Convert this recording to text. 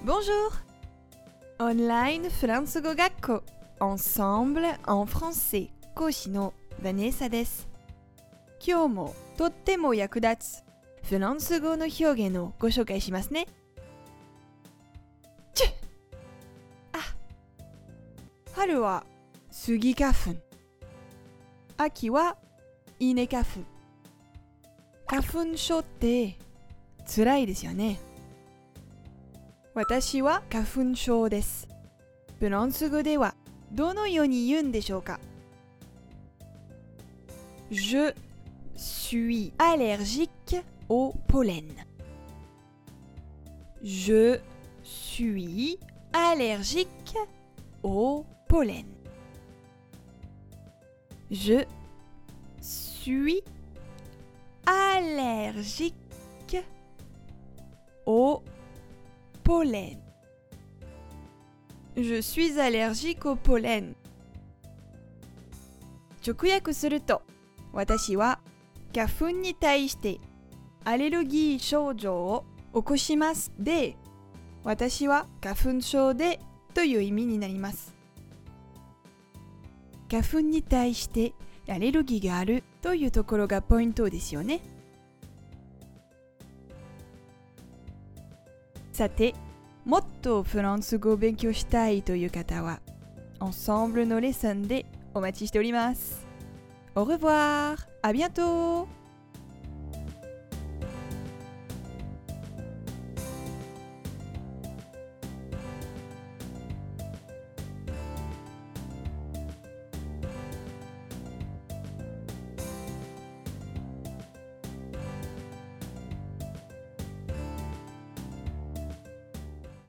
Bonjour! Online フランス語学校 Ensemble en français 講師のヴァネッサです。今日もとっても役立つフランス語の表現をご紹介しますね。春はスギ花粉、秋は稲花粉。花粉症って辛いですよね。私は花粉症です。フランス語ではどのように言うんでしょうか？ Je suis allergique au pollen. Je suis allergique au pollen. Je suis allergique au pollen. Je suis allergique au pollen. 直訳すると、私は花粉に対してアレルギー症状を起こしますで、私は花粉症でという意味になります。花粉に対してアレルギーがあるというところがポイントですよね。さて、もっとフランス語を勉強したいという方は、Ensembleのレッスンでお待ちしております。Au revoir! À bientôt!